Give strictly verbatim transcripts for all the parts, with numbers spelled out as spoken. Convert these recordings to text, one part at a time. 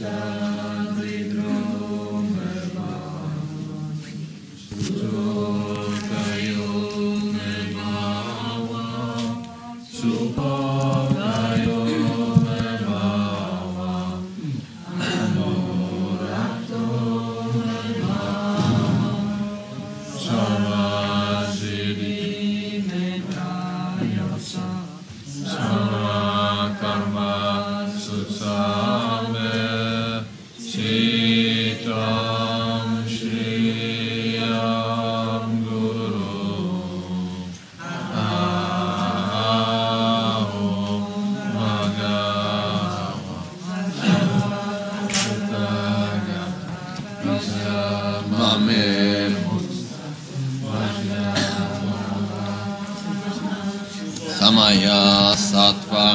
Samaya sattva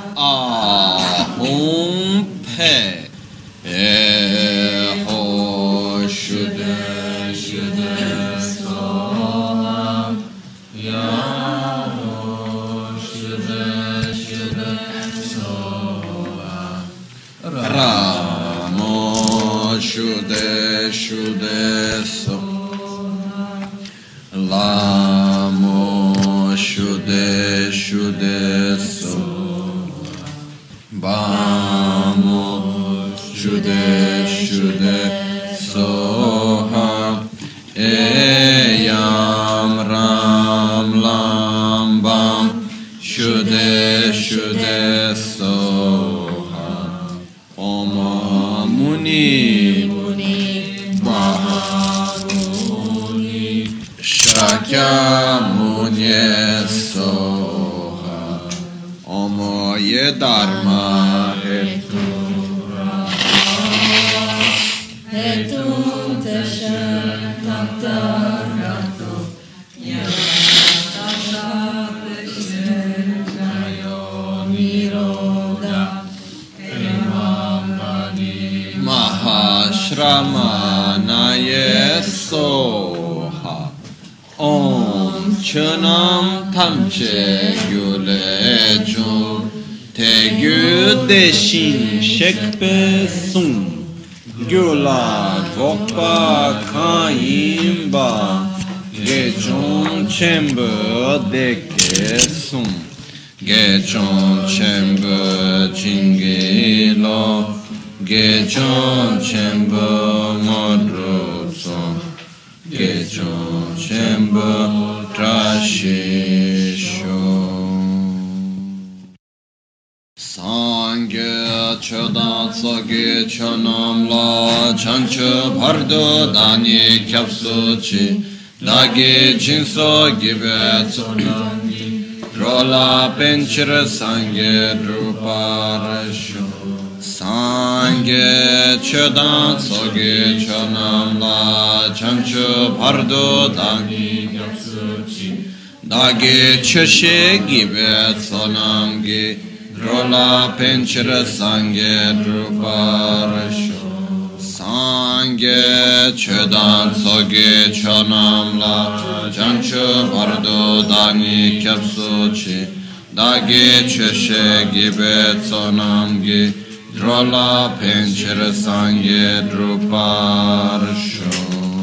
ahum pe eho shuddha shuddha soham yaho shuddha shuddha soham ramo shuddha shuddha soham lamo shuddha shuddha soham bamo shuddha shuddha soham eyam ram lam bam shuddha shuddha soham om muni mahamuni shakyamuni soham om ye dharma hetu hetu tasha tattagato yatasa pechayo nirodha emamani mahashramanaye soha om chunam tamche gyulejum te gyudeshin shekpe sum gyula dvokpa kayimba gechon chembe deke sum gechon chembe chingelo gechon chembe modrosum gechon chembe trashisho Sangye chodan tsoge chonam la chancho bardo dani kyapso chi dagi jinso gibe tsonami rola penchira sangye druparasho Sangye chodan tsoge chonam la chancho bardo dani kyapso chi dagi choshe gibe tsonamgi Rola penchira sangye druparasho Sangye chodan tsoge chonam la chancho bardo dani kyapso chi Dagi choshe gibe tsonamgi Rola penchira sangye druparasho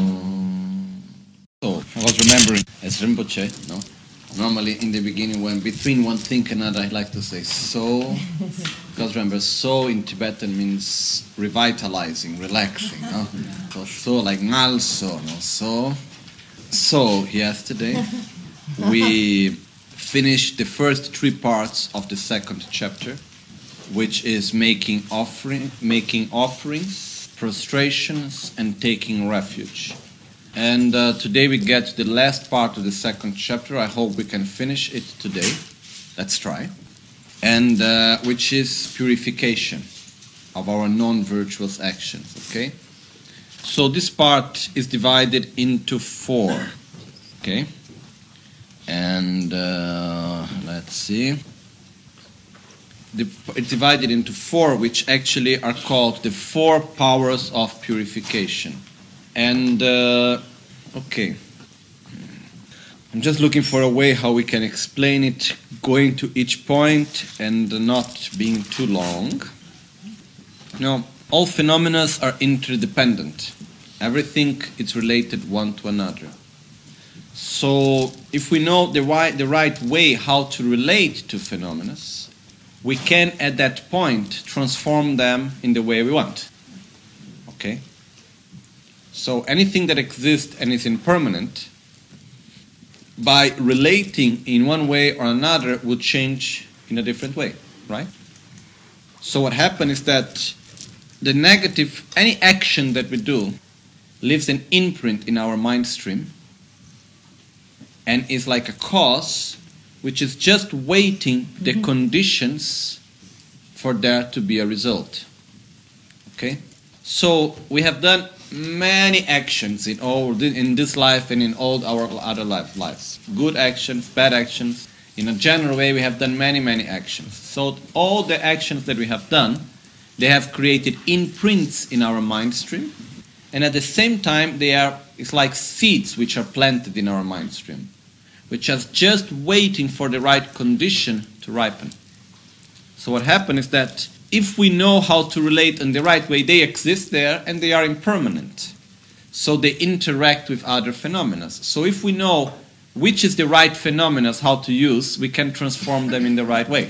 So, I was remembering as Rinpoche, no? Normally, in the beginning, when between one thing and another, I like to say so, because remember, so in Tibetan means revitalizing, relaxing. No? So, so like ngal so, no? So, so yesterday we finished the first three parts of the second chapter, which is making offering, making offerings, prostrations, and taking refuge. And uh, today we get to the last part of the second chapter. I hope we can finish it today. Let's try. And uh, which is purification of our non-virtuous actions, okay? So this part is divided into four, okay? And uh, let's see. The, it's divided into four, which actually are called the four powers of purification. And, uh, okay, I'm just looking for a way how we can explain it, going to each point and not being too long. Now, all phenomena are interdependent. Everything is related one to another. So if we know the right, the right way how to relate to phenomena, we can at that point transform them in the way we want. Okay? So anything that exists and is impermanent, by relating in one way or another, would change in a different way, right? So what happens is that the negative, any action that we do, leaves an imprint in our mind stream and is like a cause which is just waiting the mm-hmm. conditions for there to be a result. Okay? So we have done many actions in all in this life and in all our other life, lives. Good actions, bad actions. In a general way, we have done many, many actions. So all the actions that we have done, they have created imprints in our mind stream. And at the same time, they are it's like seeds which are planted in our mind stream, which are just waiting for the right condition to ripen. So what happens is that if we know how to relate in the right way, they exist there and they are impermanent. So they interact with other phenomena. So if we know which is the right phenomena, how to use, we can transform them in the right way.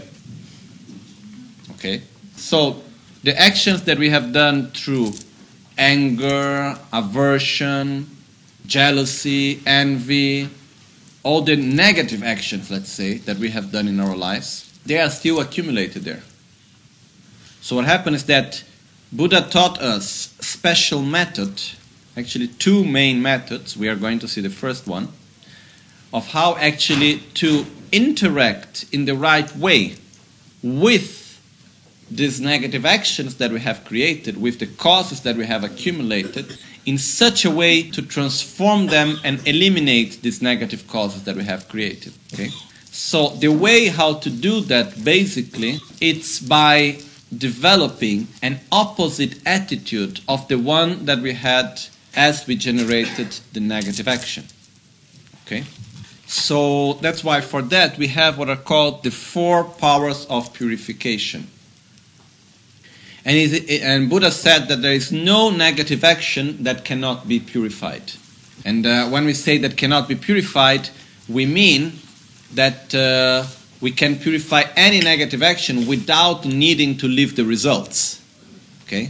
Okay? So the actions that we have done through anger, aversion, jealousy, envy, all the negative actions, let's say, that we have done in our lives, they are still accumulated there. So what happened is that Buddha taught us special method, actually two main methods, we are going to see the first one, of how actually to interact in the right way with these negative actions that we have created, with the causes that we have accumulated, in such a way to transform them and eliminate these negative causes that we have created. Okay? So the way how to do that, basically, it's by developing an opposite attitude of the one that we had as we generated the negative action. Okay? So that's why for that we have what are called the four powers of purification. And, it, and Buddha said that there is no negative action that cannot be purified. And uh, when we say that cannot be purified, we mean that uh, we can purify any negative action without needing to leave the results. Okay?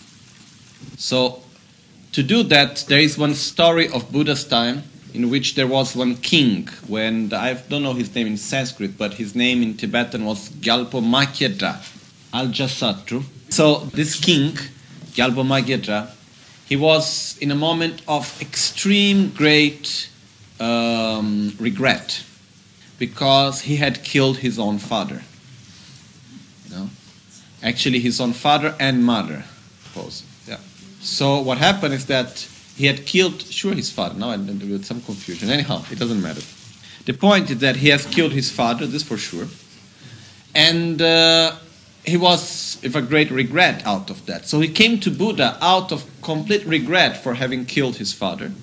So, to do that, there is one story of Buddha's time in which there was one king, when, I don't know his name in Sanskrit, but his name in Tibetan was Gyalpo Makyedra, Aljasattu. So this king, Gyalpo Makyedra, he was in a moment of extreme great um, regret because he had killed his own father. You know? Actually, his own father and mother, suppose. Yeah. So what happened is that he had killed, sure, his father. Now I'm with some confusion. Anyhow, it doesn't matter. The point is that he has killed his father, this for sure. And uh, he was with a great regret out of that. So he came to Buddha out of complete regret for having killed his father.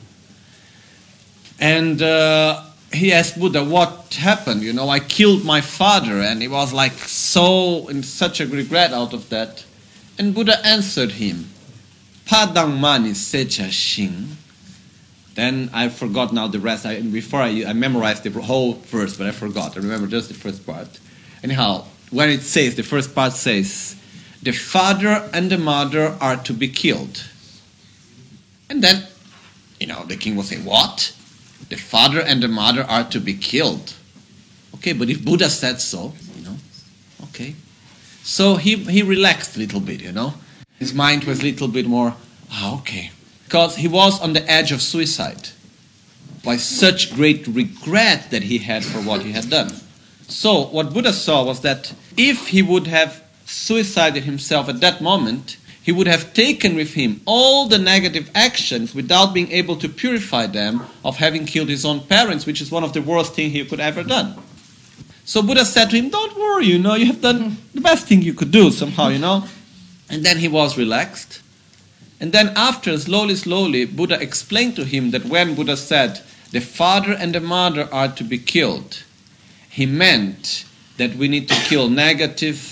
And uh, he asked Buddha, what happened? You know, I killed my father. And he was like so in such a regret out of that. And Buddha answered him, Padang mani secha shing. Then I forgot now the rest. I, before I, I memorized the whole verse, but I forgot. I remember just the first part. Anyhow, when it says, the first part says, the father and the mother are to be killed. And then, you know, the king will say, what? The father and the mother are to be killed. Okay, but if Buddha said so, you know, okay. So he, he relaxed a little bit, you know. His mind was a little bit more, ah, okay. Because he was on the edge of suicide by such great regret that he had for what he had done. So what Buddha saw was that if he would have suicided himself at that moment, he would have taken with him all the negative actions without being able to purify them of having killed his own parents, which is one of the worst things he could ever done. So Buddha said to him, don't worry, you know, you have done the best thing you could do somehow, you know. And then he was relaxed. And then after, slowly, slowly, Buddha explained to him that when Buddha said, the father and the mother are to be killed, he meant that we need to kill negative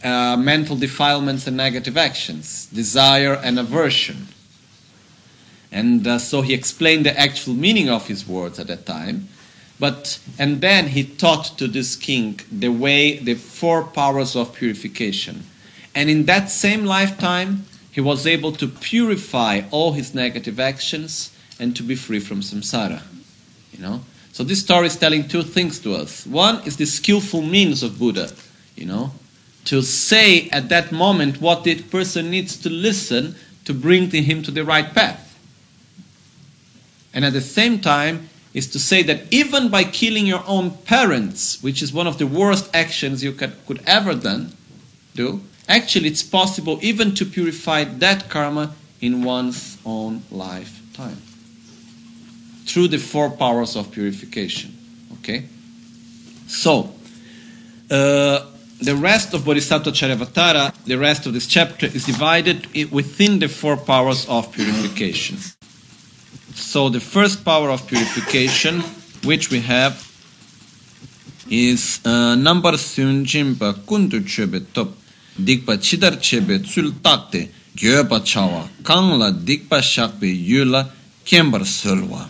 uh, mental defilements and negative actions, desire and aversion. And uh, so he explained the actual meaning of his words at that time. But and then he taught to this king the way, the four powers of purification. And in that same lifetime, he was able to purify all his negative actions and to be free from samsara. You know? So this story is telling two things to us. One is the skillful means of Buddha, you know, to say at that moment what the person needs to listen to bring him to the right path. And at the same time, is to say that even by killing your own parents, which is one of the worst actions you could, could ever done, do, actually it's possible even to purify that karma in one's own lifetime. Through the four powers of purification. Okay? So, uh, the rest of Bodhisattva Charyavatara, the rest of this chapter, is divided within the four powers of purification. So the first power of purification, which we have, is number sunjimpa kundu chebe top dikpa chidar chebe tsultate gyoba chawa kangla dikpa shakbe yula kembar surwa.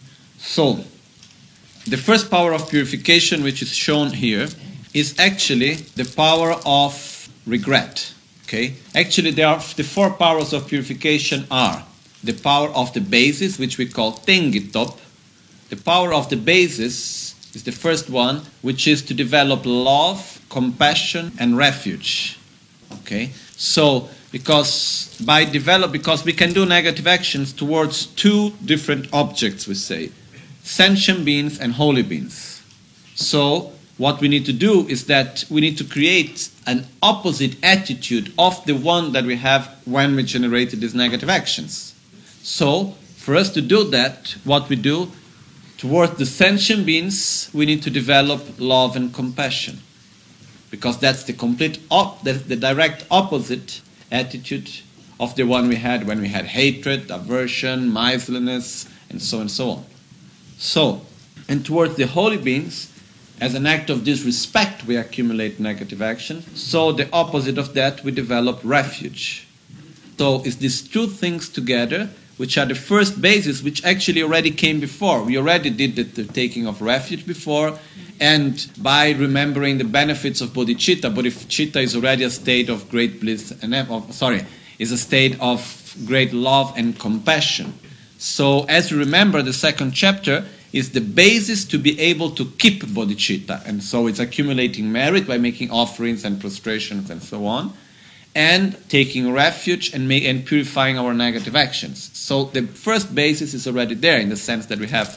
So the first power of purification, which is shown here, is actually the power of regret. Okay? Actually, there are the four powers of purification are the power of the basis, which we call Tengitop. The power of the basis is the first one, which is to develop love, compassion, and refuge. Okay? So, because by develop, because we can do negative actions towards two different objects, we say, sentient beings and holy beings. So, what we need to do is that we need to create an opposite attitude of the one that we have when we generated these negative actions. So, for us to do that, what we do, towards the sentient beings, we need to develop love and compassion. Because that's the complete, op- the, the direct opposite attitude of the one we had when we had hatred, aversion, miserliness, and so on and so on. So, and towards the holy beings, as an act of disrespect, we accumulate negative action. So, the opposite of that, we develop refuge. So, it's these two things together, which are the first basis, which actually already came before. We already did the, the taking of refuge before, and by remembering the benefits of bodhicitta, bodhicitta is already a state of great bliss, and of, sorry, is a state of great love and compassion. So, as you remember, the second chapter is the basis to be able to keep bodhicitta, and so it's accumulating merit by making offerings and prostrations and so on, and taking refuge and, make, and purifying our negative actions. So the first basis is already there in the sense that we have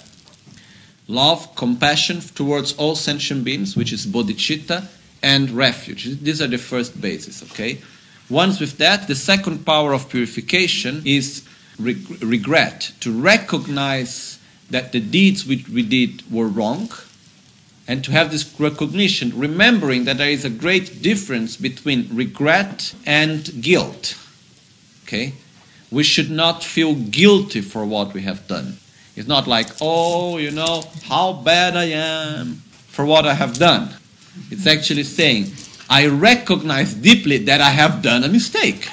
love, compassion towards all sentient beings, which is bodhicitta, and refuge. These are the first bases, okay? Once with that, the second power of purification is reg- regret, to recognize that the deeds which we did were wrong, and to have this recognition, remembering that there is a great difference between regret and guilt. Okay? We should not feel guilty for what we have done. It's not like, oh, you know, how bad I am for what I have done. It's actually saying, I recognize deeply that I have done a mistake.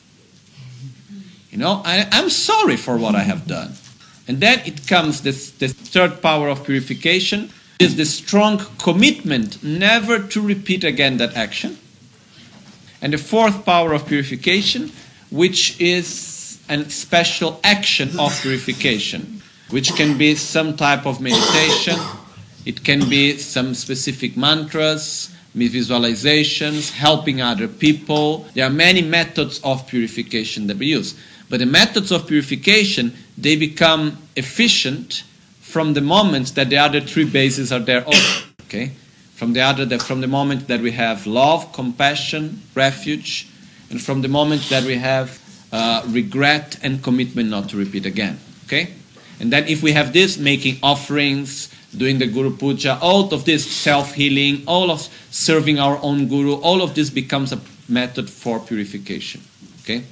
You know, I, I'm sorry for what I have done. And then it comes this, this third power of purification, is the strong commitment never to repeat again that action. And the fourth power of purification, which is a special action of purification, which can be some type of meditation, it can be some specific mantras, visualizations, helping other people. There are many methods of purification that we use. But the methods of purification, they become efficient from the moment that the other three bases are there also, okay? From the other, from the moment that we have love, compassion, refuge, and from the moment that we have uh, regret and commitment not to repeat again, okay? And then if we have this, making offerings, doing the Guru Puja, all of this self-healing, all of serving our own Guru, all of this becomes a method for purification, okay?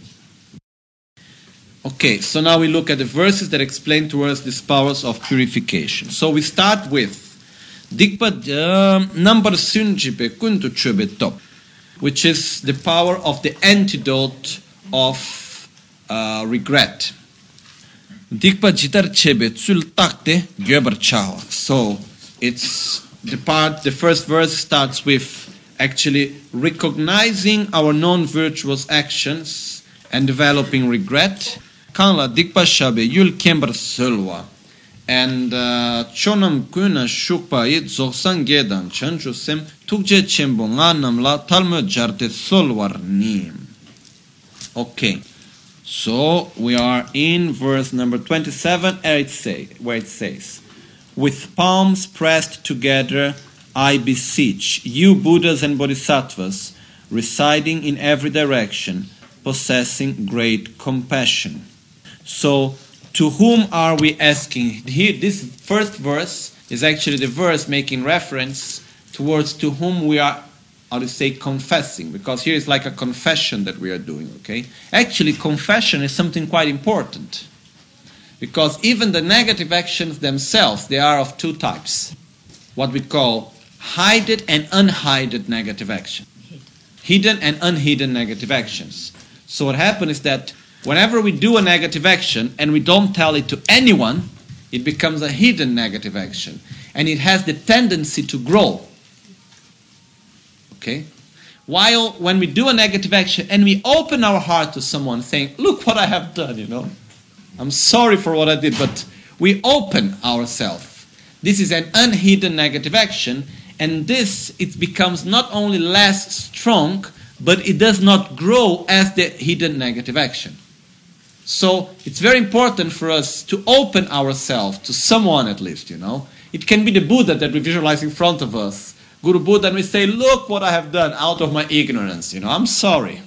Okay, so now we look at the verses that explain to us these powers of purification. So we start with Dikpa number sunjipe kuntu chube top. which is the power of the antidote of uh, regret. Dikpa jitar chebe tsul takte gyobar chawa. So it's the part, the first verse starts with actually recognizing our non-virtuous actions and developing regret. Kanla dikpa shabe yul kembar sulwa. And chonam kuna shukpa it zoksan gedan chanchu sem tukje chembo nganam la talmo jarte solwar nim. Okay, so we are in verse number twenty-seven, where it, say, where it says, with palms pressed together, I beseech you, Buddhas and Bodhisattvas, residing in every direction, possessing great compassion. So, to whom are we asking? Here, this first verse is actually the verse making reference towards to whom we are, how to say, confessing, because here is like a confession that we are doing, okay? Actually, confession is something quite important, because even the negative actions themselves, they are of two types. What we call hidden and unhidden negative action. Hidden and unhidden negative actions. So what happens is that whenever we do a negative action and we don't tell it to anyone, it becomes a hidden negative action. And it has the tendency to grow. Okay? While when we do a negative action and we open our heart to someone saying, look what I have done, you know. I'm sorry for what I did, but we open ourselves. This is an unhidden negative action, and this, it becomes not only less strong, but it does not grow as the hidden negative action. So it's very important for us to open ourselves to someone at least, you know. It can be the Buddha that we visualize in front of us. Guru Buddha, and we say, look what I have done out of my ignorance, you know, I'm sorry.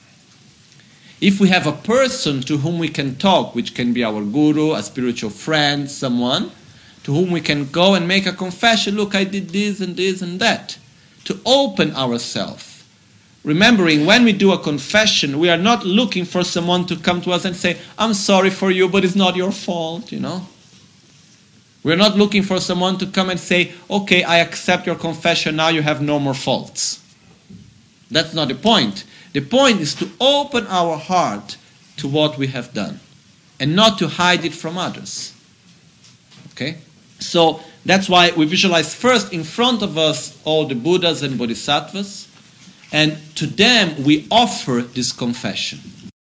If we have a person to whom we can talk, which can be our guru, a spiritual friend, someone, to whom we can go and make a confession, look, I did this and this and that, to open ourselves. Remembering, when we do a confession, we are not looking for someone to come to us and say, I'm sorry for you, but it's not your fault, you know. We're not looking for someone to come and say, okay, I accept your confession, now you have no more faults. That's not the point. The point is to open our heart to what we have done and not to hide it from others. Okay? So that's why we visualize first in front of us all the Buddhas and Bodhisattvas, and to them we offer this confession.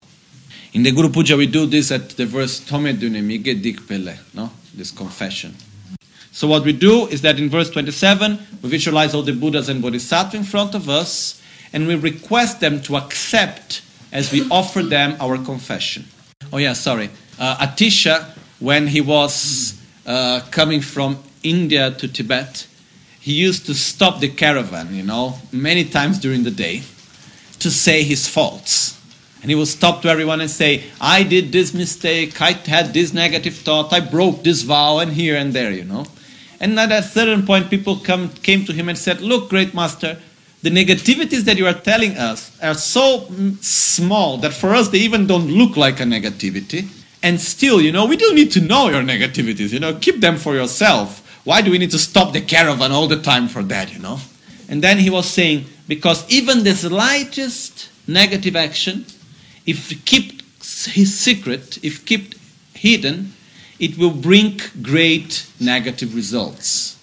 In the Guru Puja we do this at the verse Tome Dunamige Dikpele, no? This confession. So what we do is that in verse twenty-seven we visualize all the Buddhas and Bodhisattvas in front of us, and we request them to accept as we offer them our confession. Oh yeah, sorry. Uh, Atisha, when he was uh, coming from India to Tibet, he used to stop the caravan, you know, many times during the day to say his faults. And he would stop to everyone and say, I did this mistake, I had this negative thought, I broke this vow, and here and there, you know. And at a certain point, people come, came to him and said, look, great master, the negativities that you are telling us are so small that for us they even don't look like a negativity. And still, you know, we don't need to know your negativities, you know, keep them for yourself. Why do we need to stop the caravan all the time for that, you know? And then he was saying, because even the slightest negative action, if kept his secret, if kept hidden, it will bring great negative results.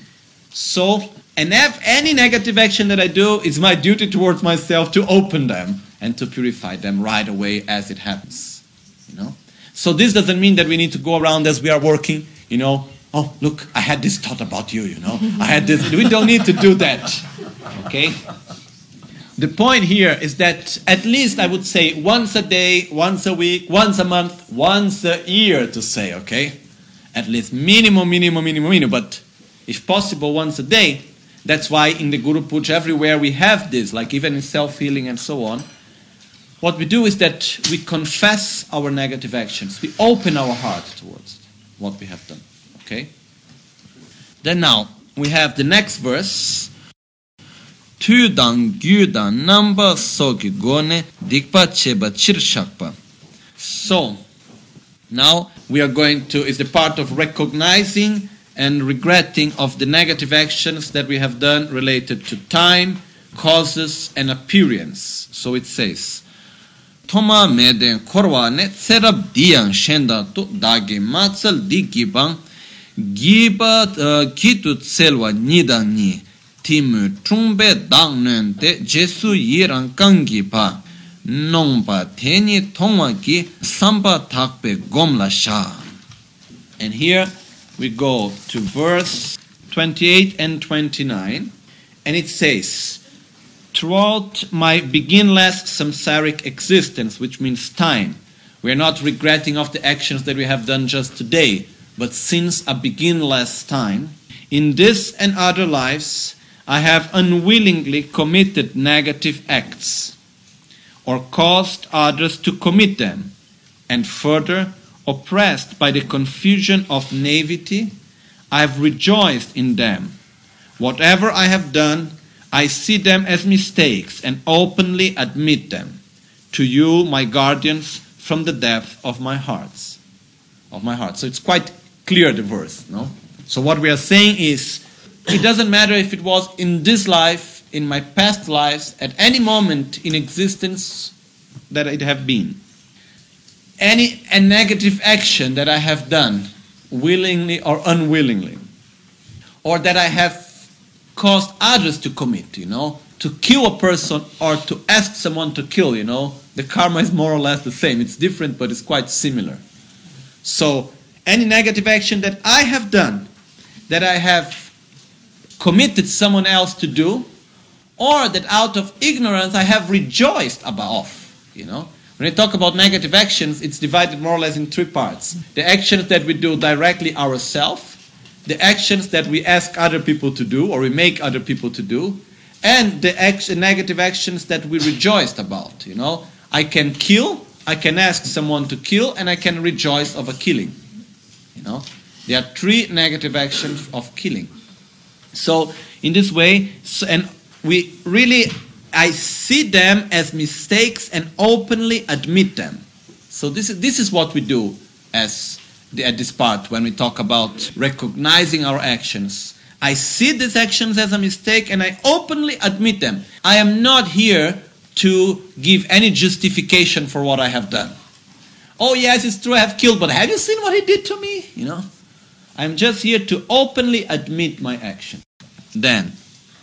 So, and if any negative action that I do, it's my duty towards myself to open them and to purify them right away as it happens. You know? So this doesn't mean that we need to go around as we are working, you know, oh, look, I had this thought about you, you know. I had this. We don't need to do that. Okay? The point here is that at least I would say once a day, once a week, once a month, once a year to say, okay? At least minimum, minimum, minimum, minimum. But if possible, once a day. That's why in the Guru Puja everywhere we have this, like even in self-healing and so on. What we do is that we confess our negative actions. We open our heart towards what we have done. Okay? Then now, we have the next verse. Tudan gyudan namba sogi gone dikpa cheba chirshakpa. So, now we are going to, is the part of recognizing and regretting of the negative actions that we have done related to time, causes an appearance. So it says, Toma meden korwa ne serab diang shenda to dagi matsal di gibang giba gitu tselwa nidang ni timu trumbe dang nente jesu yirang kangi pa nongpa teni tongwa ki samba takpe gomla sha. And here we go to verse twenty-eight and twenty-nine, and it says, throughout my beginless samsaric existence, which means time, we are not regretting of the actions that we have done just today, but since a beginless time, in this and other lives, I have unwillingly committed negative acts, or caused others to commit them, and further, oppressed by the confusion of naivety, I have rejoiced in them. Whatever I have done, I see them as mistakes and openly admit them to you, my guardians, from the depth of my hearts. Of my heart. So it's quite clear, the verse, no? So what we are saying is, it doesn't matter if it was in this life, in my past lives, at any moment in existence that it have been. Any a negative action that I have done, willingly or unwillingly, or that I have caused others to commit, you know, to kill a person or to ask someone to kill, you know, the karma is more or less the same. It's different, but it's quite similar. So, any negative action that I have done, that I have committed someone else to do, or that out of ignorance I have rejoiced about, you know. When we talk about negative actions, it's divided more or less in three parts. The actions that we do directly ourselves, the actions that we ask other people to do, or we make other people to do, and the action, negative actions that we rejoiced about, you know. I can kill, I can ask someone to kill, and I can rejoice of a killing, you know. There are three negative actions of killing. So, in this way, so, and we really, I see them as mistakes and openly admit them. So this is, this is what we do as the, at this part when we talk about recognizing our actions. I see these actions as a mistake and I openly admit them. I am not here to give any justification for what I have done. Oh yes, it's true I have killed, but have you seen what he did to me? You know, I'm just here to openly admit my action. Then,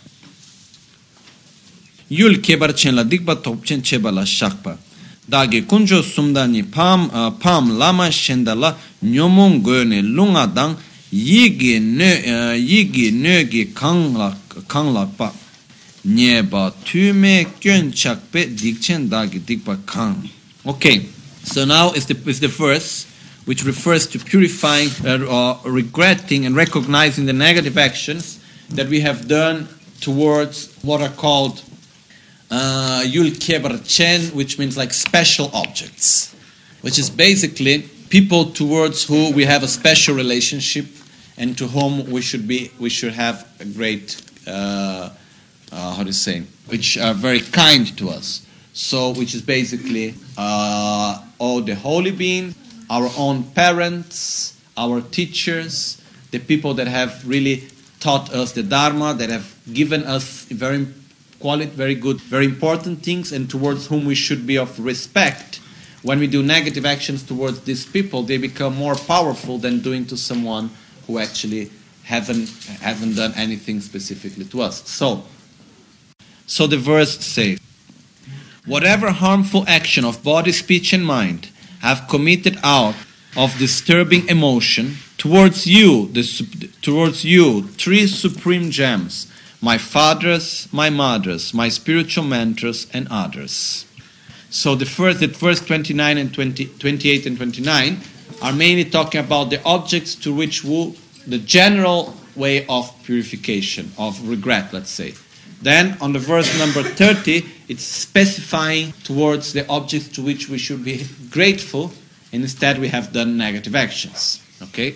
Yul kebar chen la dikba topchen cheba la shakpa. Dagi kunjo sumdani pam pam lama shendala nyomon goyne lunga dang yigi ne yigi negi kangla kanglakpa nyeba tume kyon chakpe dikchen dagi dikba kang. Okay, so now is the is the verse which refers to purifying uh, or regretting and recognizing the negative actions that we have done towards what are called Uh, Yul Kebar Chen, which means like special objects, which is basically people towards who we have a special relationship and to whom we should be, we should have a great, uh, uh, how do you say, which are very kind to us. So, which is basically uh, all the holy beings, our own parents, our teachers, the people that have really taught us the Dharma, that have given us very quality, very good, very important things, and towards whom we should be of respect. When we do negative actions towards these people, they become more powerful than doing to someone who actually haven't haven't done anything specifically to us. So, so the verse says, whatever harmful action of body, speech, and mind have committed out of disturbing emotion towards you, the, towards you, three supreme gems, my fathers, my mothers, my spiritual mentors, and others. So the first, that verse twenty-nine and twenty, twenty-eight and twenty-nine are mainly talking about the objects to which we, the general way of purification, of regret, let's say. Then on the verse number thirty, it's specifying towards the objects to which we should be grateful, and instead we have done negative actions. Okay?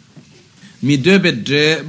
The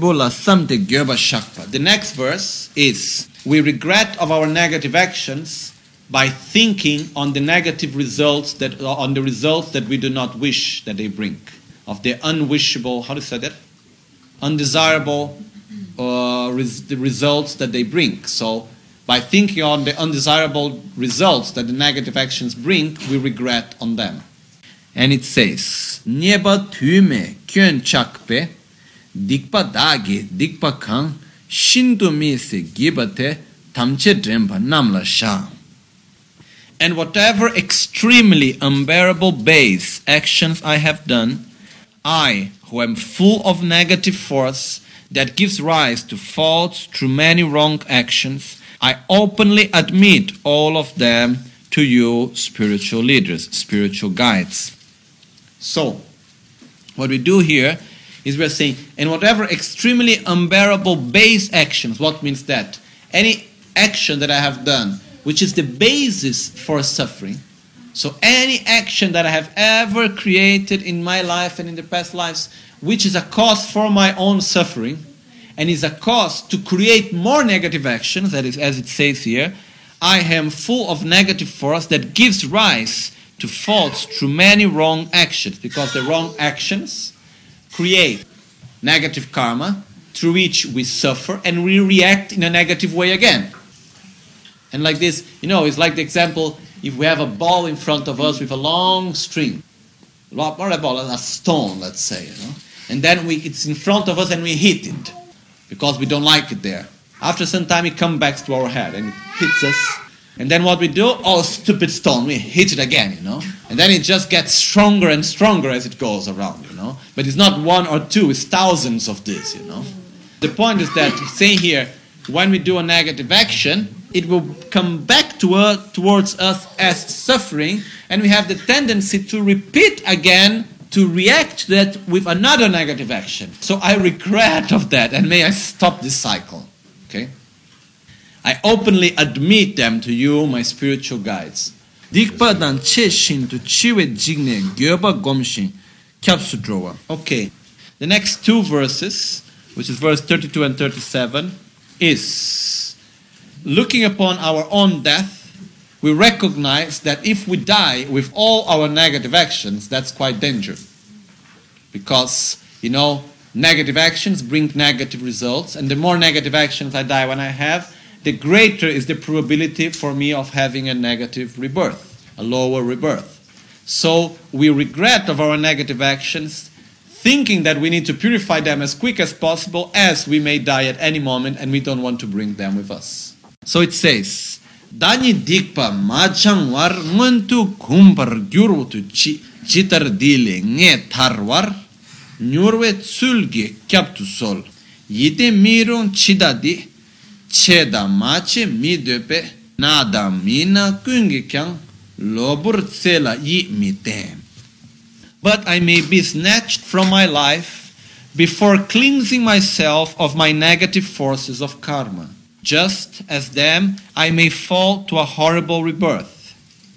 next verse is, we regret of our negative actions by thinking on the negative results, that on the results that we do not wish that they bring, of the unwishable, how do you say that? Undesirable uh, res- the results that they bring. So, by thinking on the undesirable results that the negative actions bring, we regret on them. And it says, Nyeba tume kyun chakpe, dikpa dagi, dikpa kang, shindu mi se gibate, tamche drempa namla sha. And whatever extremely unbearable base actions I have done, I, who am full of negative force that gives rise to faults through many wrong actions, I openly admit all of them to you, spiritual leaders, spiritual guides. So, what we do here is we're saying, and whatever extremely unbearable base actions, what means that? Any action that I have done, which is the basis for suffering. So any action that I have ever created in my life and in the past lives, which is a cause for my own suffering, and is a cause to create more negative actions, that is, as it says here, I am full of negative force that gives rise to faults through many wrong actions, because the wrong actions create negative karma through which we suffer and we react in a negative way again. And like this, you know, it's like the example, if we have a ball in front of us with a long string, not a ball, a stone, let's say, you know, and then we, it's in front of us and we hit it because we don't like it there. After some time, it comes back to our head and it hits us. And then what we do? Oh, stupid stone, we hit it again, you know. And then it just gets stronger and stronger as it goes around, you know. But it's not one or two, it's thousands of this, you know. The point is that, saying here, when we do a negative action, it will come back to us, towards us as suffering, and we have the tendency to repeat again, to react to that with another negative action. So I regret of that, and may I stop this cycle. Okay? I openly admit them to you, my spiritual guides. Okay. The next two verses, which is verse thirty-two and thirty-seven, is looking upon our own death, we recognize that if we die with all our negative actions, that's quite dangerous. Because, you know, negative actions bring negative results, and the more negative actions I die when I have, the greater is the probability for me of having a negative rebirth, a lower rebirth. So we regret of our negative actions, thinking that we need to purify them as quick as possible, as we may die at any moment and we don't want to bring them with us. So it says, Dani dikpa majangwar nguntu kumpar gyurwutu chitar dile nge tarwar nyurwe tsulge kyaptu sol yite mirun chidadi cheda mache midepe nada mina kungi kyang lobur tsela yi mite. But I may be snatched from my life before cleansing myself of my negative forces of karma. Just as them, I may fall to a horrible rebirth.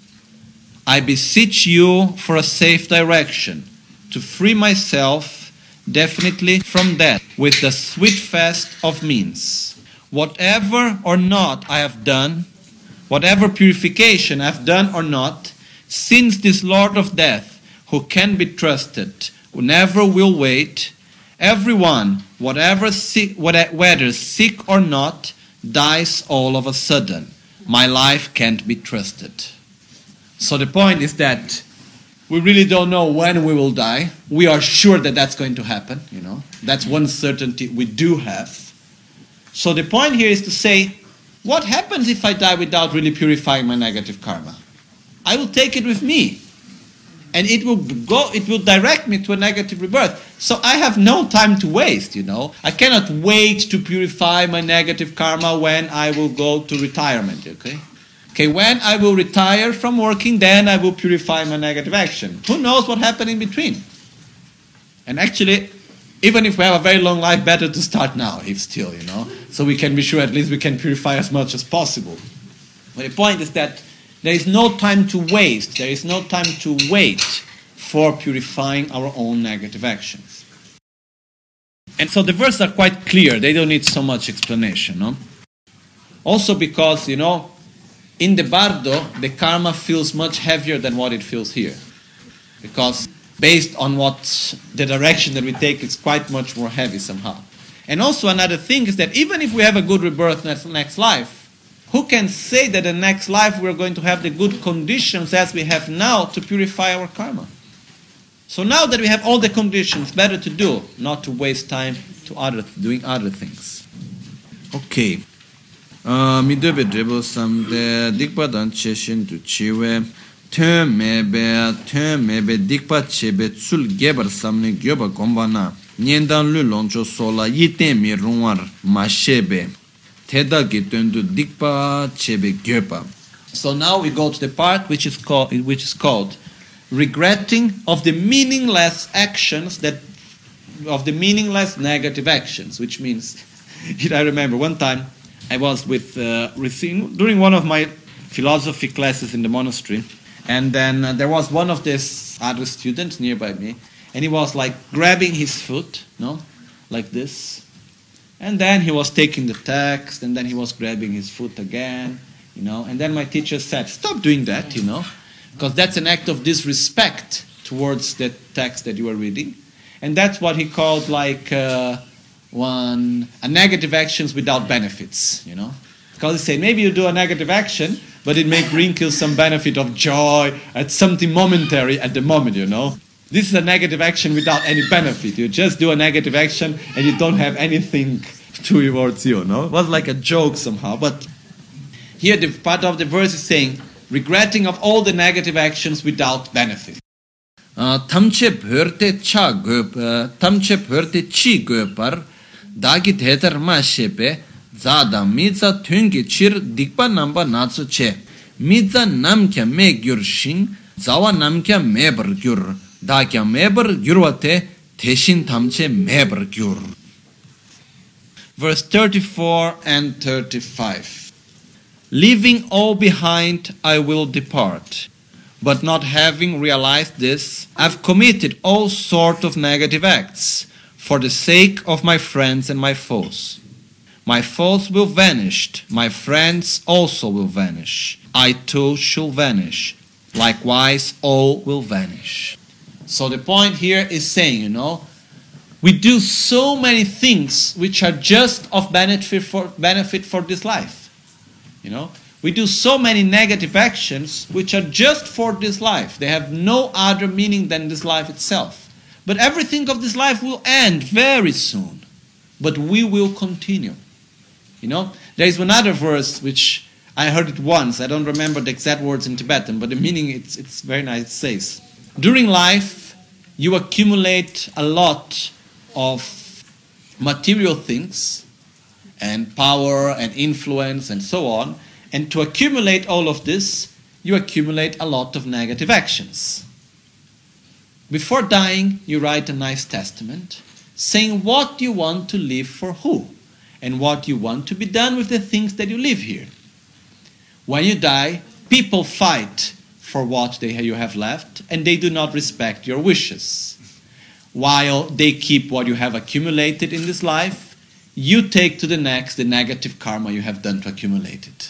I beseech you for a safe direction, to free myself definitely from death with the sweet fast of means. Whatever or not I have done, whatever purification I have done or not, since this Lord of Death, who can be trusted, who never will wait, everyone, whatever sick, whether sick or not, dies all of a sudden. My life can't be trusted. So the point is that we really don't know when we will die. We are sure that that's going to happen, you know. That's one certainty we do have. So the point here is to say, what happens if I die without really purifying my negative karma? I will take it with me. And it will go, it will direct me to a negative rebirth. So I have no time to waste, you know. I cannot wait to purify my negative karma when I will go to retirement, okay? Okay, when I will retire from working, then I will purify my negative action. Who knows what happened in between? And actually, even if we have a very long life, better to start now, if still, you know. So we can be sure at least we can purify as much as possible. But the point is that there is no time to waste. There is no time to wait for purifying our own negative actions. And so the verses are quite clear. They don't need so much explanation, no? Also because, you know, in the bardo, the karma feels much heavier than what it feels here. Because based on what the direction that we take, it's quite much more heavy somehow. And also another thing is that even if we have a good rebirth next, next life, who can say that the next life we're going to have the good conditions as we have now to purify our karma? So now that we have all the conditions, better to do, not to waste time to other doing other things. Okay. Midebe drebo samde dikpa dan cheshin tu chiwe tön mebe tön mebe dikpa chebe tsul gebar samne gyoba gombana nyendan lu loncho sola yiten mi runwar mashebe teda gitundu dikpa chebe gyoba. So now we go to the part which is called which is called regretting of the meaningless actions that of the meaningless negative actions, which means I remember one time I was with uh, during one of my philosophy classes in the monastery, and then uh, there was one of these other students nearby me, and he was like grabbing his foot, no, like this, and then he was taking the text, and then he was grabbing his foot again, you know, and then my teacher said, "Stop doing that, you know, because that's an act of disrespect towards the text that you are reading," and that's what he called like. Uh, One, a negative actions without benefits, you know. Because he said, maybe you do a negative action, but it may bring you some benefit of joy, at something momentary at the moment, you know. This is a negative action without any benefit. You just do a negative action and you don't have anything towards you, no? It was like a joke somehow. But here the part of the verse is saying, regretting of all the negative actions without benefit. Tamche bhörte cha göp, tamche bhörte chi göpar, dagi thetar ma shepe, zada miza thungi chir dikpa namba natsu che, miza namkya me gyur shin, zawa namkya me bar gyur, dakya me bar gyurwate, teshin tamche me bar gyur. Verse thirty-four and thirty-five. Leaving all behind, I will depart. But not having realized this, I've committed all sorts of negative acts for the sake of my friends and my foes. My foes will vanish, my friends also will vanish. I too shall vanish. Likewise, all will vanish. So the point here is saying, you know, we do so many things which are just of benefit for, benefit for this life. You know, we do so many negative actions which are just for this life. They have no other meaning than this life itself. But everything of this life will end very soon. But we will continue. You know, there is another verse which I heard it once. I don't remember the exact words in Tibetan, but the meaning, it's, it's very nice. It says, during life, you accumulate a lot of material things and power and influence and so on. And to accumulate all of this, you accumulate a lot of negative actions. Before dying, you write a nice testament saying what you want to live for who and what you want to be done with the things that you live here. When you die, people fight for what they, you have left, and they do not respect your wishes. While they keep what you have accumulated in this life, you take to the next the negative karma you have done to accumulate it.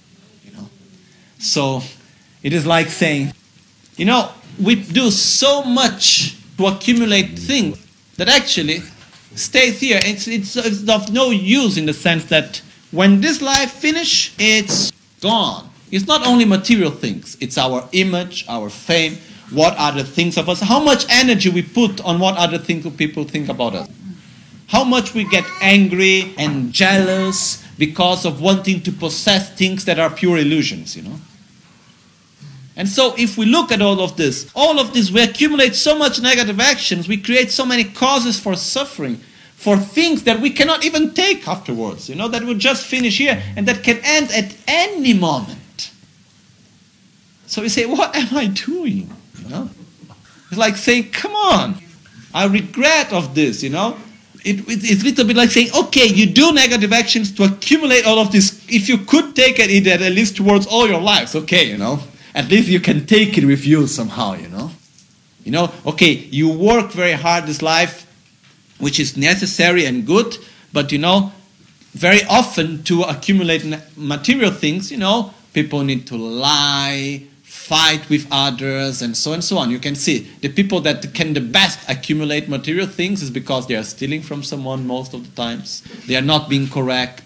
So it is like saying, you know, we do so much to accumulate things that actually stays here. It's, it's, it's of no use in the sense that when this life finishes, it's gone. It's not only material things. It's our image, our fame, what other things of us, how much energy we put on what other things people think about us. How much we get angry and jealous because of wanting to possess things that are pure illusions, you know. And so if we look at all of this, all of this, we accumulate so much negative actions, we create so many causes for suffering, for things that we cannot even take afterwards, you know, that will just finish here and that can end at any moment. So we say, what am I doing? You know? It's like saying, come on, I regret of this, you know. It, it, it's a little bit like saying, okay, you do negative actions to accumulate all of this. If you could take it at least towards all your lives, okay, you know. At least you can take it with you somehow, you know. You know, okay, you work very hard this life, which is necessary and good, but, you know, very often to accumulate material things, you know, people need to lie, fight with others, and so and so on. You can see the people that can the best accumulate material things is because they are stealing from someone most of the times. They are not being correct.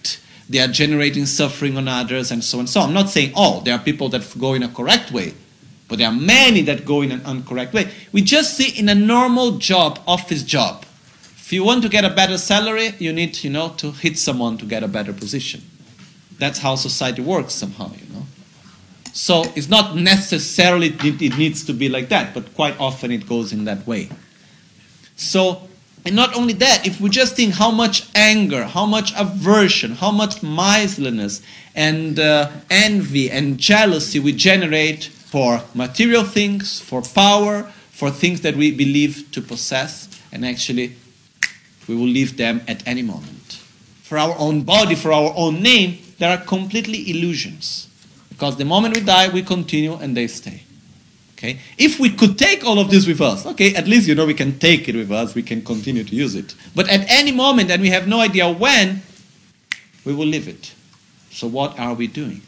they are generating suffering on others, and so on. So I'm not saying, oh, there are people that go in a correct way, but there are many that go in an incorrect way. We just see in a normal job, office job. If you want to get a better salary, you need, you know, to hit someone to get a better position. That's how society works somehow, you know. So it's not necessarily it needs to be like that, but quite often it goes in that way. So, and not only that, if we just think how much anger, how much aversion, how much miserliness and uh, envy and jealousy we generate for material things, for power, for things that we believe to possess, and actually we will leave them at any moment. For our own body, for our own name, there are completely illusions. Because the moment we die, we continue and they stay. Okay? If we could take all of this with us, okay, at least, you know, we can take it with us, we can continue to use it. But at any moment, and we have no idea when, we will leave it. So what are we doing?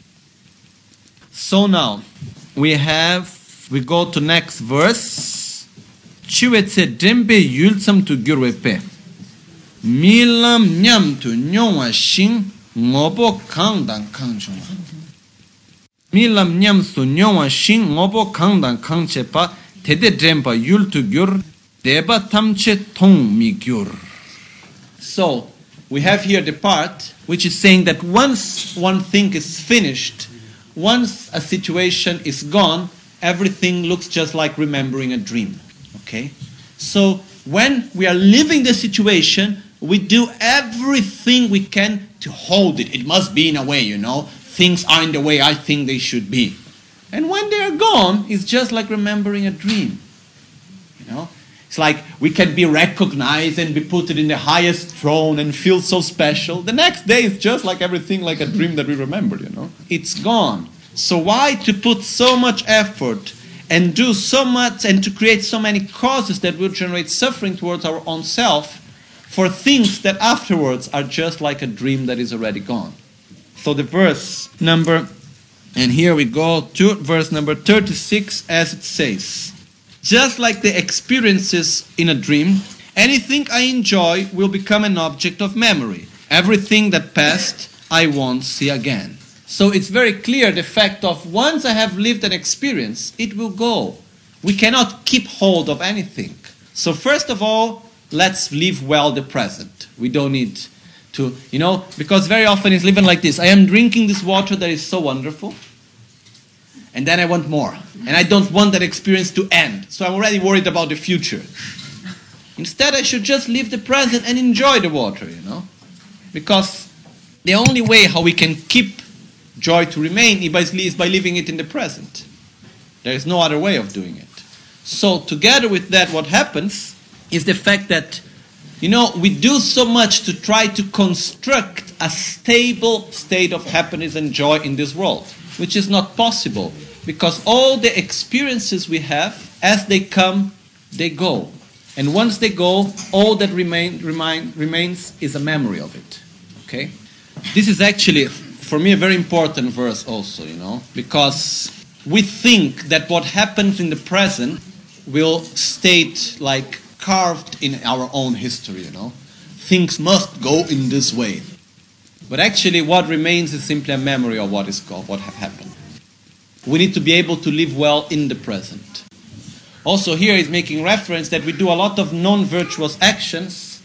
So now, we have, we go to next verse. Chiwetse dembe yulsam tu gyurwepe. Milam nyam tu nyongwa shing ngobo kangdan kangchuma. Milam nyam su nyongwa shing ngobo kangdan kangchepa tede drempa yul tu gyur deba tamche tong mi gyur. So, we have here the part which is saying that once one thing is finished, once a situation is gone, everything looks just like remembering a dream. Okay? So, when we are living the situation, we do everything we can to hold it. It must be in a way, you know. Things are in the way I think they should be. And when they are gone, it's just like remembering a dream. You know? It's like we can be recognized and be put in the highest throne and feel so special. The next day it's just like everything like a dream that we remember, you know. It's gone. So why to put so much effort and do so much and to create so many causes that will generate suffering towards our own self for things that afterwards are just like a dream that is already gone? So the verse number, and here we go to verse number thirty-six, as it says, just like the experiences in a dream, anything I enjoy will become an object of memory. Everything that passed, I won't see again. So it's very clear the fact of once I have lived an experience, it will go. We cannot keep hold of anything. So first of all, let's live well the present. We don't need to, you know, because very often it's living like this. I am drinking this water that is so wonderful, and then I want more. And I don't want that experience to end. So I'm already worried about the future. Instead, I should just live the present and enjoy the water, you know. Because the only way how we can keep joy to remain is by living it in the present. There is no other way of doing it. So together with that, what happens is the fact that, you know, we do so much to try to construct a stable state of happiness and joy in this world, which is not possible, because all the experiences we have, as they come, they go. And once they go, all that remain, remain, remains is a memory of it. Okay? This is actually, for me, a very important verse also, you know, because we think that what happens in the present will state like carved in our own history, you know. Things must go in this way. But actually what remains is simply a memory of what is of what have happened. We need to be able to live well in the present. Also here he's making reference that we do a lot of non-virtuous actions.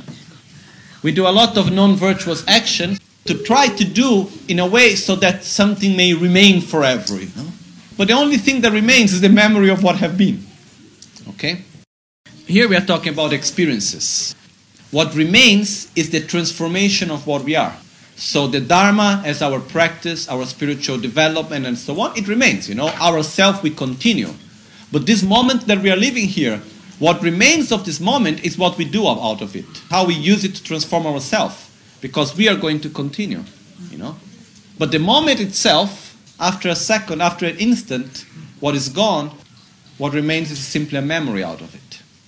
We do a lot of non-virtuous actions to try to do in a way so that something may remain forever, you know. But the only thing that remains is the memory of what have been. Okay? Here we are talking about experiences. What remains is the transformation of what we are. So the Dharma as our practice, our spiritual development and so on, it remains, you know. Our self we continue. But this moment that we are living here, what remains of this moment is what we do out of it. How we use it to transform ourselves. Because we are going to continue, you know. But the moment itself, after a second, after an instant, what is gone, what remains is simply a memory out of it.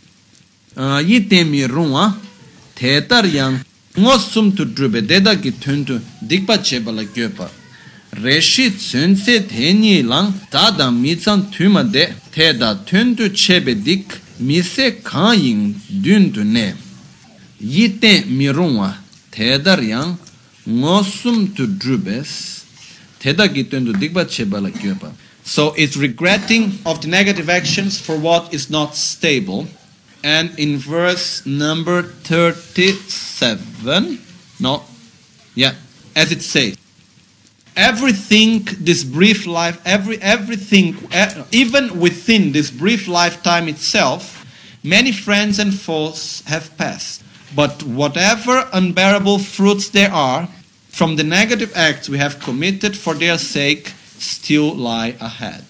Yitemi runga tetar yang ngosum tu drube deda ki tuntu dikpa chebala gyopa reshi tsunse teni lang tada mitsan tuma de teda tuntu chebe dik mise kanyin duntu ne yite mirunga tedar yang ngosum to drubes tedagi tendu digba chebala gyoba. So it's regretting of the negative actions for what is not stable. And in verse number thirty-seven, no, yeah, as it says, everything this brief life, every everything, even within this brief lifetime itself, many friends and foes have passed. But whatever unbearable fruits there are from the negative acts we have committed for their sake still lie ahead.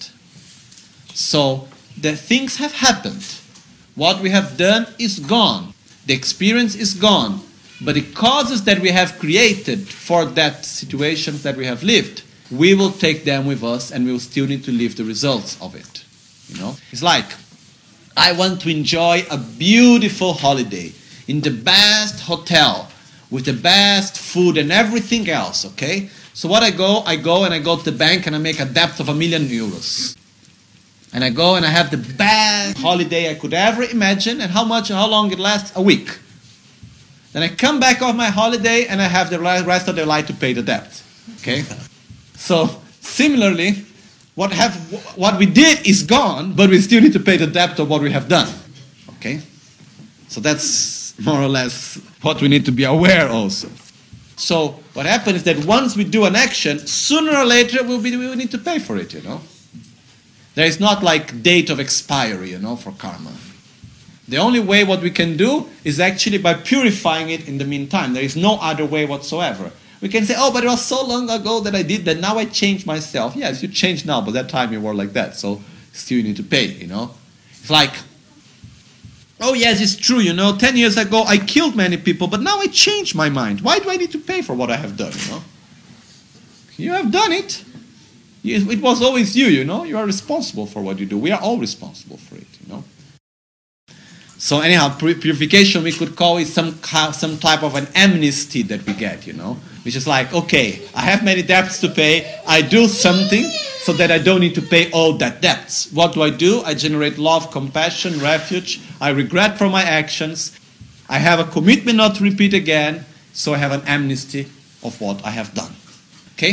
So the things have happened. What we have done is gone. The experience is gone. But the causes that we have created for that situation that we have lived, we will take them with us and we will still need to live the results of it. You know, it's like, I want to enjoy a beautiful holiday in the best hotel with the best food and everything else, okay? So what I go, I go and I go to the bank and I make a debt of a million euros. And I go and I have the best holiday I could ever imagine. And how much, how long it lasts? A week. Then I come back off my holiday and I have the rest of the life to pay the debt. Okay? So, similarly, what have what we did is gone, but we still need to pay the debt of what we have done. Okay? So that's more or less what we need to be aware also. So what happens is that once we do an action, sooner or later we'll be, we will need to pay for it, you know. There is not like date of expiry, you know, for karma. The only way what we can do is actually by purifying it in the meantime. There is no other way whatsoever. We can say, oh, but it was so long ago that I did that, now I changed myself. Yes, you changed now, but that time you were like that, so still you need to pay, you know. It's like, oh yes, it's true, you know, ten years ago I killed many people, but now I changed my mind. Why do I need to pay for what I have done, you know? You have done it. It was always you, you know. You are responsible for what you do. We are all responsible for it, you know. So anyhow, purification we could call it some some type of an amnesty that we get, you know. Which is like, okay, I have many debts to pay. I do something so that I don't need to pay all that debts. What do I do? I generate love, compassion, refuge. I regret for my actions. I have a commitment not to repeat again. So I have an amnesty of what I have done. Okay?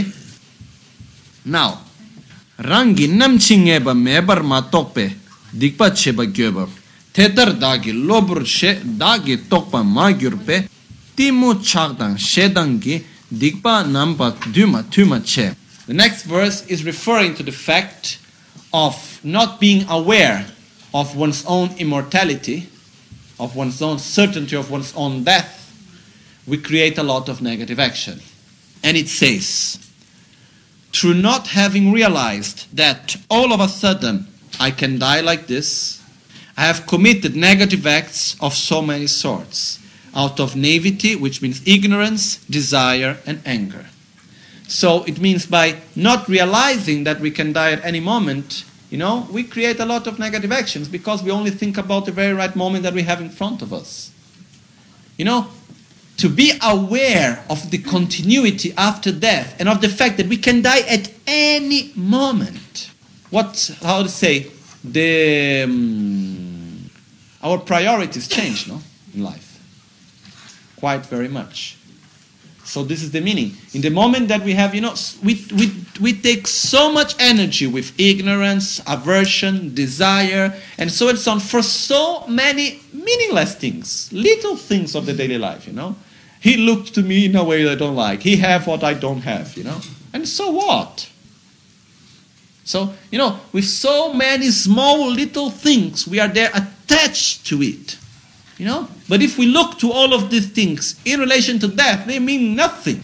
Now, rangi namchingeba mebar matokpe dikpa cheba gyoba. Tetar dagi lobur she dagi tokpa magyurpe timu chagdang shedangi dikpa namba duma tuma che. The next verse is referring to the fact of not being aware of one's own immortality, of one's own certainty of one's own death. We create a lot of negative action. And it says, through not having realized that all of a sudden I can die like this, I have committed negative acts of so many sorts, out of naivety, which means ignorance, desire, and anger. So it means by not realizing that we can die at any moment, you know, we create a lot of negative actions because we only think about the very right moment that we have in front of us. You know, to be aware of the continuity after death and of the fact that we can die at any moment. What, how to say, the um, our priorities change, no, in life, quite very much. So this is the meaning. In the moment that we have, you know, we we we take so much energy with ignorance, aversion, desire, and so and so on for so many meaningless things, little things of the daily life, you know. He looked to me in a way that I don't like. He have what I don't have, you know. And so what? So, you know, with so many small little things, we are there attached to it. You know? But if we look to all of these things in relation to death, they mean nothing.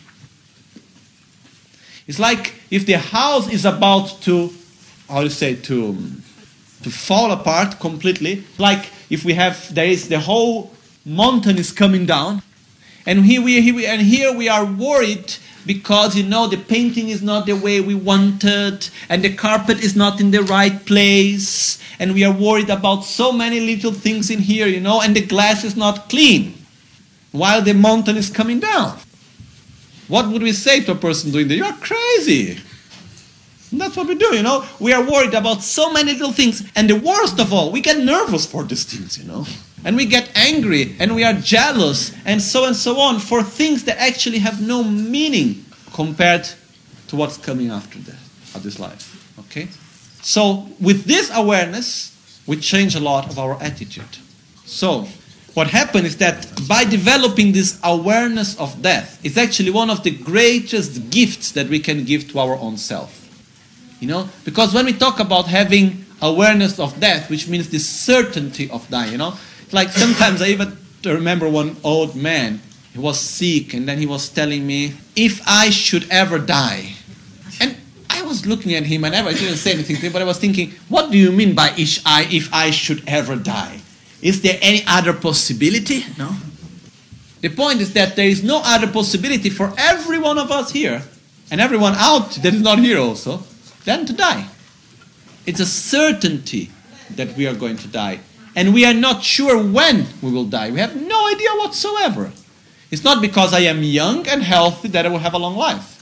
It's like if the house is about to, how do you say, to, to fall apart completely. Like if we have, there is the whole mountain is coming down. And here we, here we, and here we are worried because, you know, the painting is not the way we wanted, and the carpet is not in the right place, and we are worried about so many little things in here, you know, and the glass is not clean, while the mountain is coming down. What would we say to a person doing that? You are crazy. And that's what we do, you know. We are worried about so many little things, and the worst of all, we get nervous for these things, you know. And we get angry and we are jealous and so and so on for things that actually have no meaning compared to what's coming after that, of this life. Okay? So with this awareness, we change a lot of our attitude. So what happened is that by developing this awareness of death, it's actually one of the greatest gifts that we can give to our own self. You know, because when we talk about having awareness of death, which means the certainty of dying, you know, it's like sometimes I even remember one old man, he was sick, and then he was telling me, if I should ever die, and I was looking at him, and I didn't say anything to him, but I was thinking, what do you mean by if I, if I should ever die? Is there any other possibility? No. The point is that there is no other possibility for every one of us here, and everyone out that is not here also, than to die. It's a certainty that we are going to die. And we are not sure when we will die. We have no idea whatsoever. It's not because I am young and healthy that I will have a long life.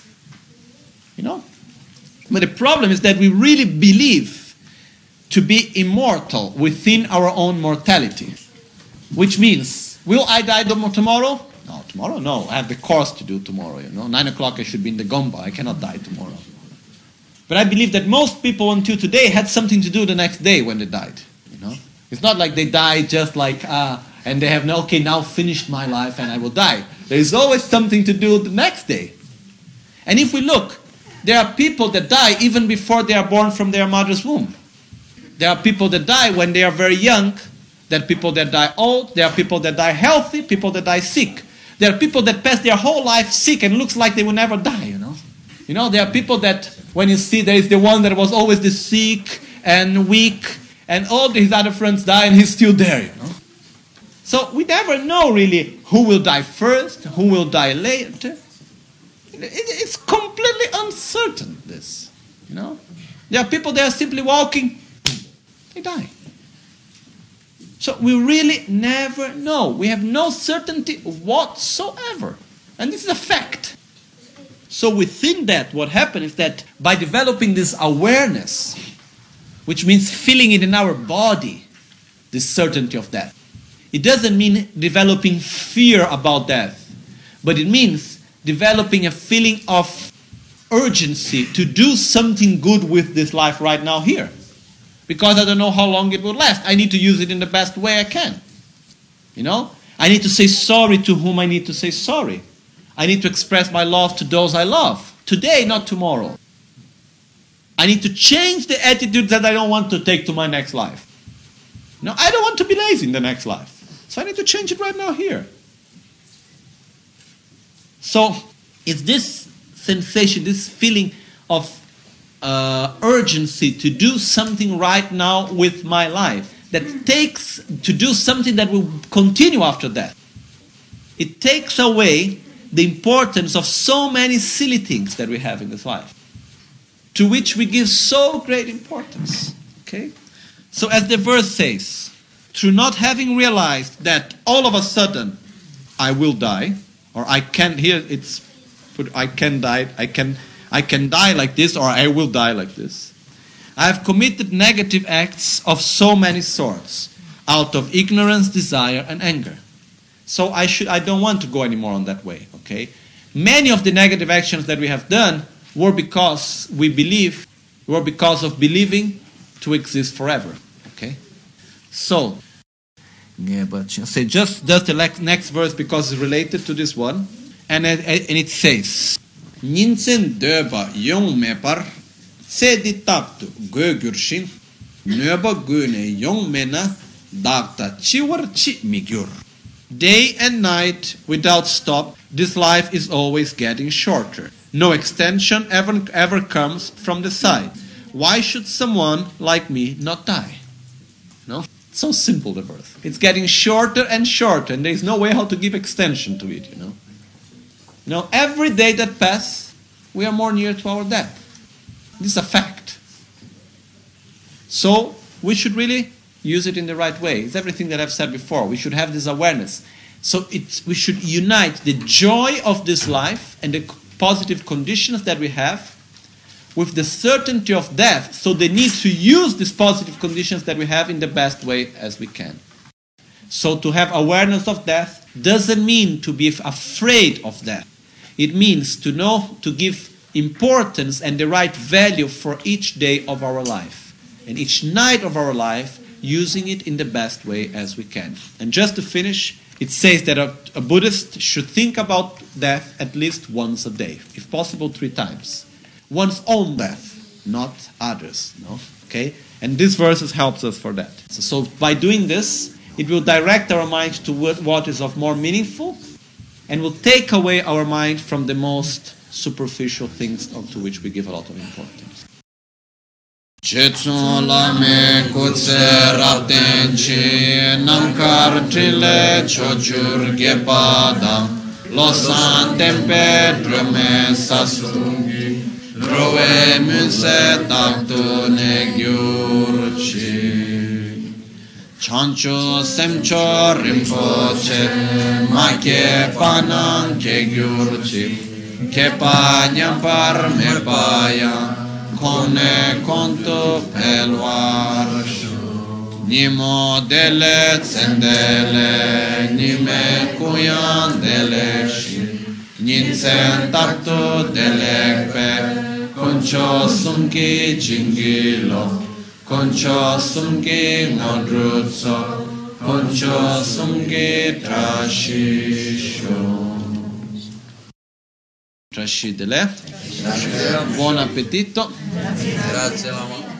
You know? But the problem is that we really believe to be immortal within our own mortality. Which means, will I die tomorrow? No, tomorrow? No, I have the course to do tomorrow. You know, Nine o'clock I should be in the Gomba. I cannot die tomorrow. But I believe that most people until today had something to do the next day when they died. You know, it's not like they died just like, ah, and they have no, okay, now finished my life and I will die. There is always something to do the next day. And if we look, there are people that die even before they are born from their mother's womb. There are people that die when they are very young. There are people that die old. There are people that die healthy, people that die sick. There are people that pass their whole life sick and looks like they will never die, you know. You know, there are people that, when you see there is the one that was always the sick and weak, and all his other friends die and he's still there, you know. So we never know really who will die first, who will die later. It's completely uncertain, this, you know. There are people that are simply walking, they die. So we really never know. We have no certainty whatsoever. And this is a fact. So within that, what happened is that by developing this awareness, which means feeling it in our body, this certainty of death. It doesn't mean developing fear about death, but it means developing a feeling of urgency to do something good with this life right now here. Because I don't know how long it will last. I need to use it in the best way I can. You know? I need to say sorry to whom I need to say sorry. I need to express my love to those I love. Today, not tomorrow. I need to change the attitude that I don't want to take to my next life. No, I don't want to be lazy in the next life. So I need to change it right now here. So it's this sensation, this feeling of uh, urgency to do something right now with my life that takes to do something that will continue after that. It takes away the importance of so many silly things that we have in this life, to which we give so great importance. Okay? So as the verse says, through not having realized that all of a sudden I will die, or I can, here it's put, I can die, I can, I can die like this, or I will die like this. I have committed negative acts of so many sorts, out of ignorance, desire, and anger. So I should, I don't want to go anymore on that way, okay? Many of the negative actions that we have done were because we believe, were because of believing to exist forever, okay? So, yeah, but say just, just the next verse because it's related to this one, and it, and it says, Ninsen döba yong mepar, sedi taptu gögurshin, nöba gune yong mena, dagta chiwar chi migyur. Day and night, without stop, this life is always getting shorter. No extension ever, ever comes from the side. Why should someone like me not die? No? It's so simple, the verse. It's getting shorter and shorter, and there's no way how to give extension to it, you know. You know, every day that passes, we are more near to our death. This is a fact. So, we should really use it in the right way. It's everything that I've said before. We should have this awareness. So it's, we should unite the joy of this life and the positive conditions that we have with the certainty of death. So they need to use these positive conditions that we have in the best way as we can. So to have awareness of death doesn't mean to be afraid of death. It means to know, to give importance and the right value for each day of our life and each night of our life, using it in the best way as we can. And just to finish, it says that a, a Buddhist should think about death at least once a day, if possible three times. One's own death, not others. No? Okay? And this verse helps us for that. So, so by doing this, it will direct our mind to what is of more meaningful and will take away our mind from the most superficial things to which we give a lot of importance. Chetsun lame kutse rapten chi namkar trile chochur gepada losan tempe drume sasungi drove munse taktu ne gyurchi chancho semcho rimpoche make panan ke gyurchi ke pa nyampar me paya Kone konto pelvar Nimo dele tsendele Nime kuyan deleshi Ninsen takto delekpe Koncho sumki jingilo Koncho sumki ngodrutso Koncho sumki trashisho Trascidele. Buon appetito. Grazie, mamma.